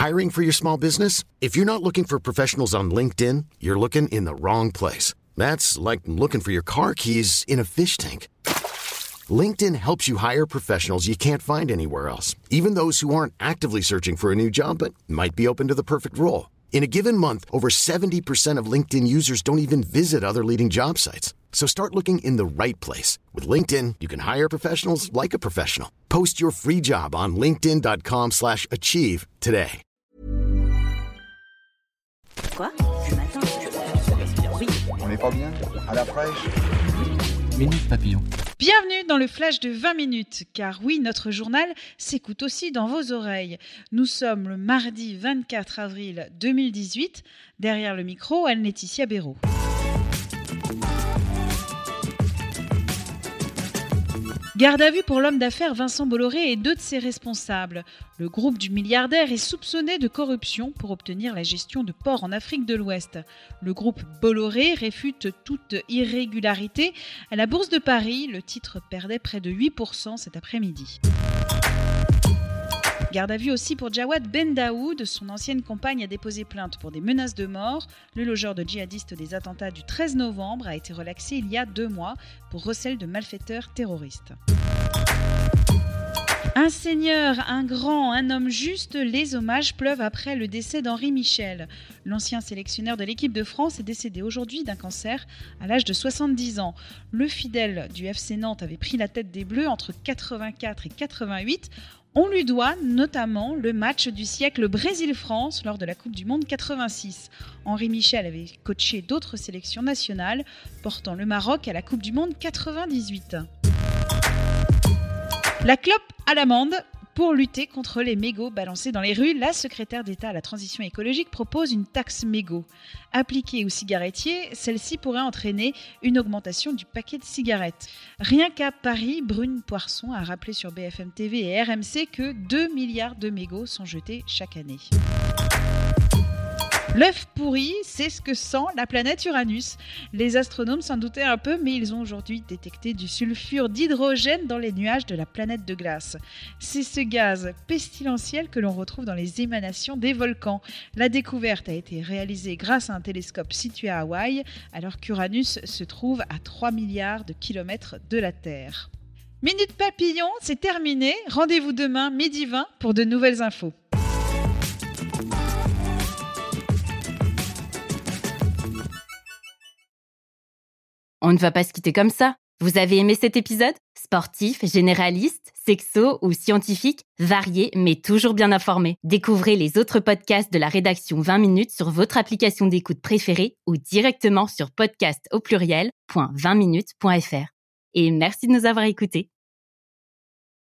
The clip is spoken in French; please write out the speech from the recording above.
Hiring for your small business? If you're not looking for professionals on LinkedIn, you're looking in the wrong place. That's like looking for your car keys in a fish tank. LinkedIn helps you hire professionals you can't find anywhere else, even those who aren't actively searching for a new job but might be open to the perfect role. In a given month, over 70% of LinkedIn users don't even visit other leading job sites. So start looking in the right place. With LinkedIn, you can hire professionals like a professional. Post your free job on linkedin.com/achieve today. Quoi? Ce matin, oui. On n'est pas bien? À la fraîche? Minute Papillon. Bienvenue dans le flash de 20 minutes, car oui, notre journal s'écoute aussi dans vos oreilles. Nous sommes le mardi 24 avril 2018. Derrière le micro, Anne-Laetitia Béraud. Garde à vue pour l'homme d'affaires Vincent Bolloré et deux de ses responsables. Le groupe du milliardaire est soupçonné de corruption pour obtenir la gestion de ports en Afrique de l'Ouest. Le groupe Bolloré réfute toute irrégularité. À la Bourse de Paris, le titre perdait près de 8% cet après-midi. Garde à vue aussi pour Jawad Ben Daoud. Son ancienne compagne a déposé plainte pour des menaces de mort. Le logeur de djihadistes des attentats du 13 novembre a été relaxé il y a 2 mois pour recel de malfaiteurs terroristes. Un seigneur, un grand, un homme juste, les hommages pleuvent après le décès d'Henri Michel. L'ancien sélectionneur de l'équipe de France est décédé aujourd'hui d'un cancer à l'âge de 70 ans. Le fidèle du FC Nantes avait pris la tête des Bleus entre 84 et 88. On lui doit notamment le match du siècle Brésil-France lors de la Coupe du Monde 86. Henri Michel avait coaché d'autres sélections nationales, portant le Maroc à la Coupe du Monde 98. La clope à l'amende. Pour lutter contre les mégots balancés dans les rues, la secrétaire d'État à la transition écologique propose une taxe mégot. Appliquée aux cigarettiers, celle-ci pourrait entraîner une augmentation du paquet de cigarettes. Rien qu'à Paris, Brune Poirson a rappelé sur BFM TV et RMC que 2 milliards de mégots sont jetés chaque année. L'œuf pourri, c'est ce que sent la planète Uranus. Les astronomes s'en doutaient un peu, mais ils ont aujourd'hui détecté du sulfure d'hydrogène dans les nuages de la planète de glace. C'est ce gaz pestilentiel que l'on retrouve dans les émanations des volcans. La découverte a été réalisée grâce à un télescope situé à Hawaï, alors qu'Uranus se trouve à 3 milliards de kilomètres de la Terre. Minute Papillon, c'est terminé. Rendez-vous demain, midi 20, pour de nouvelles infos. On ne va pas se quitter comme ça. Vous avez aimé cet épisode ? Sportif, généraliste, sexo ou scientifique, varié mais toujours bien informé. Découvrez les autres podcasts de la rédaction 20 minutes sur votre application d'écoute préférée ou directement sur podcast@20minutes.fr. Et merci de nous avoir écoutés.